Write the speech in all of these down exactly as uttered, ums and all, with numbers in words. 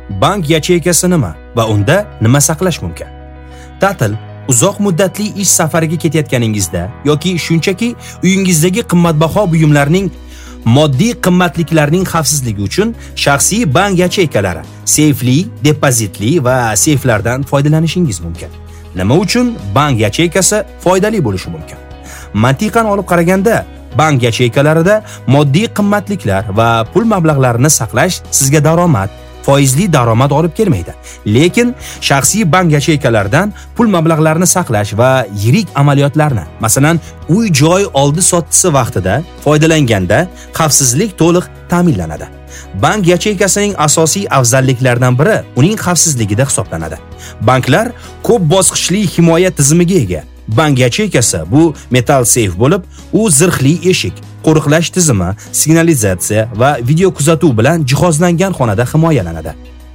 Bank yacheykasi nima va unda nima saqlash mumkin? Ta'til, uzoq muddatli ish safariga ketayotganingizda yoki shunchaki uyingizdagi qimmatbaho buyumlarning moddiy qimmatliklarning xavfsizligi uchun shaxsiy bank yacheykalari, seyfli, depozitli va seyflardan foydalanishingiz mumkin. Nima uchun bank yacheykasi foydali bo'lishi mumkin? Mantiqan olib qaraganda, bank yacheykalarida moddiy qimmatliklar va pul mablag'larini saqlash sizga daromad, foizli daromad olib kelmaydi. Lekin shaxsiy bank yacheykalaridan pul mablag'larini saqlash va yirik amaliyotlarni, masalan, uy-joy oldi-sottisi vaqtida foydalanganda xavfsizlik to'liq ta'minlanadi. Bank yacheykasining asosiy afzalliklaridan biri uning xavfsizligida hisoblanadi. Banklar ko'p bosqichli himoya tizimiga ega. Bank yacheykasi bu metal seyf bo'lib, u zirhli eshik, qo'riqlash tizimi, signalizatsiya va video kuzatuv bilan jihozlangan xonada himoyalanadi.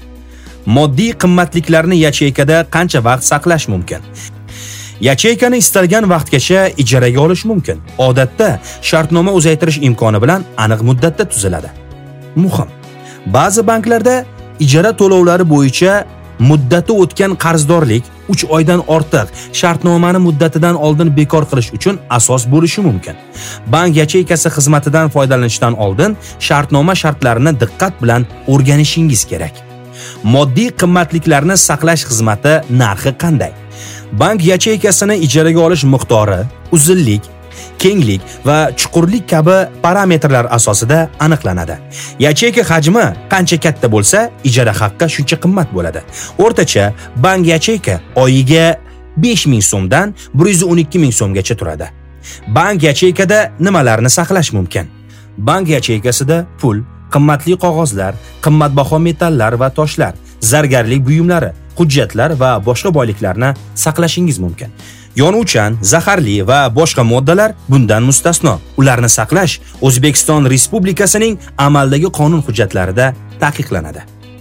Moddiy qimmatliklarni yacheykada qancha vaqt saqlash mumkin? Yacheykani istalgan vaqtgacha ijaraga olish mumkin. Odatda shartnoma uzaytirish imkoni bilan aniq muddatda tuziladi. Muhim. Ba'zi banklarda ijara to'lovlari bo'yicha muddati o'tgan qarzdorlik uch oydan ortiq shartnomani muddatidan oldin bekor qilish uchun asos bo'lishi mumkin. Bank yacheykasi xizmatidan foydalanishdan oldin shartnoma shartlarini diqqat bilan o'rganishingiz kerak. Moddiy qimmatliklarni saqlash xizmati narxi qanday? Bank yacheykasini ijaraga olish miqdori, uzunlik, kenglik va chuqurlik kabi parametrlar asosida aniqlanadi. Yacheyka hajmi qancha katta bo'lsa, ijara haqqi shuncha qimmat bo'ladi. O'rtacha bank yacheyka oyiga besh ming so'mdan bir yuz o'n ikki ming so'mgacha turadi. Bank yacheykada nimalarni saqlash mumkin? Bank yacheykasida pul, qimmatli qog'ozlar, qimmatbaho metallar va toshlar, zargarlik buyumlari, hujjatlar va boshqa boyliklarni saqlashingiz mumkin. Yonuvchan, zaharli va boshqa moddalar bundan mustasno. Ularni saqlash O'zbekiston Respublikasining amaldagi qonun hujjatlarida taqiqlanadi.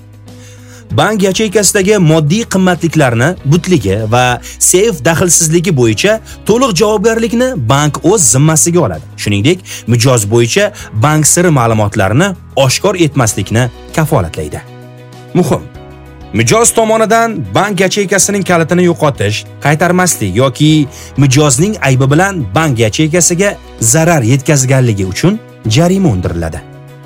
Bank yacheykasidagi moddiy qimmatliklarni butligi va seyf daxlsizligi bo'yicha to'liq javobgarlikni bank o'z zimmasiga oladi. Shuningdek, mijoz bo'yicha bank siri ma'lumotlarini oshkor etmaslikni kafolatlaydi. Muhim. Mijoz tomonidan bank yacheykasining kalitini yo'qotish, qaytarmaslik yoki mijozning aybi bilan bank yacheykasiga zarar yetkazganligi uchun jarima undiriladi.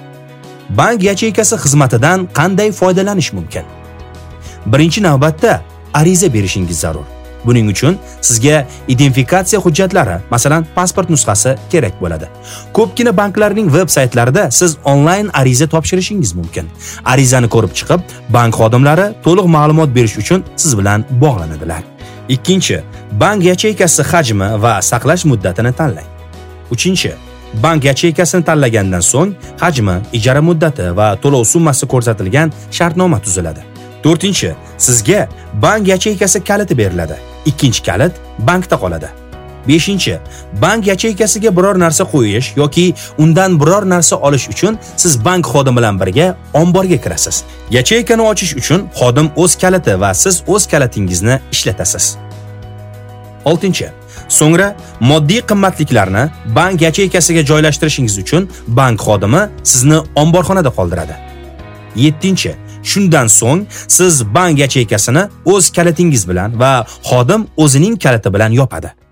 Bank yacheykasi xizmatidan qanday foydalanish mumkin? Birinchi navbatda ariza berishingiz zarur. Buning uchun sizga identifikatsiya hujjatlari, masalan, pasport nusxasi kerak bo'ladi. Ko'pgina banklarning veb-saytlarida siz onlayn ariza topshirishingiz mumkin. Arizani ko'rib chiqib, bank xodimlari to'liq ma'lumot berish uchun siz bilan bog'lanadilar. Ikkinchi, bank yacheykasi hajmi va saqlash muddatini tanlang. Uchinchi, bank yacheykasini tanlagandan so'ng hajmi, ijara muddati va to'lov summasi ko'rsatilgan shartnoma tuziladi. To'rtinchi, sizga bank yacheykasi kaliti beriladi. Ikkinchi kalit bankda qoladi. Beshinchi, bank yacheykasiga biror narsa qo'yish yoki undan biror narsa olish uchun siz bank xodimi bilan birga omborga kirasiz. Yacheykani ochish uchun xodim o'z kaliti va siz o'z kalitingizni ishlatasiz. Oltinchi, so'ngra moddiy qimmatliklarni bank yacheykasiga joylashtirishingiz uchun bank xodimi sizni omborxonada qoldiradi. Yettinchi, shundan so'ng siz bank yacheykasini o'z kalitingiz bilan va xodim o'zining kaliti bilan yopadi.